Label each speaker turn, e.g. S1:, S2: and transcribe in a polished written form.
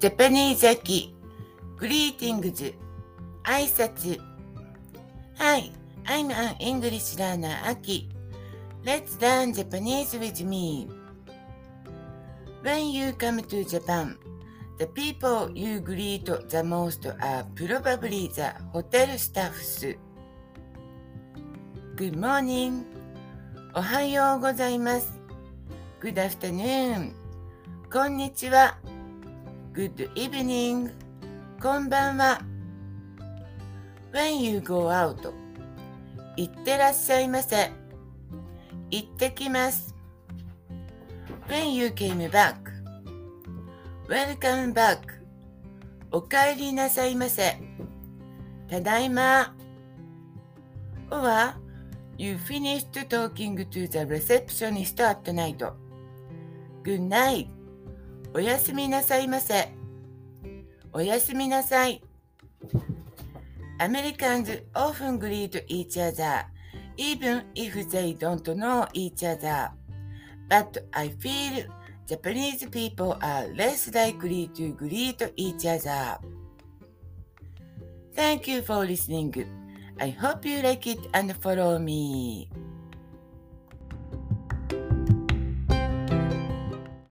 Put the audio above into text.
S1: ジャパニーズ秋、グリーティングズ、挨拶。Hi, I'm an English learner, Aki. Let's learn Japanese with me. When you come to Japan, the people you greet the most are probably the hotel staffs. Good morning. おはようございます。Good afternoon. こんにちは。Good evening. こんばんは。When you go out. 行ってらっしゃいませ。行ってきます。When you came back. Welcome back. お帰りなさいませ。ただいま。Or, you finished talking to the receptionist at night. Good night. おやすみなさいませ。おやすみなさい。Americans often greet each other, even if they don't know each other. But I feel Japanese people are less likely to greet each other. Thank you for listening. I hope you like it and follow me.